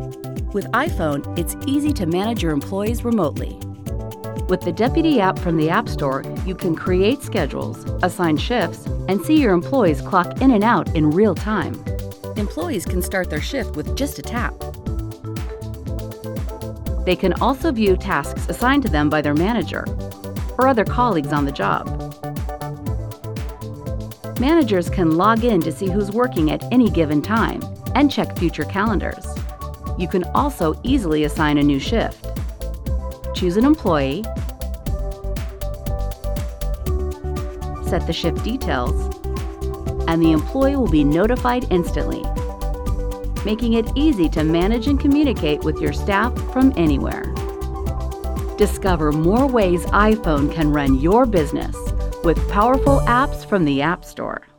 With iPhone, it's easy to manage your employees remotely. With the Deputy app from the App Store, you can create schedules, assign shifts, and see your employees clock in and out in real time. Employees can start their shift with just a tap. They can also view tasks assigned to them by their manager or other colleagues on the job. Managers can log in to see who's working at any given time and check future calendars. You can also easily assign a new shift. Choose an employee, set the shift details, and the employee will be notified instantly, making it easy to manage and communicate with your staff from anywhere. Discover more ways iPhone can run your business with powerful apps from the App Store.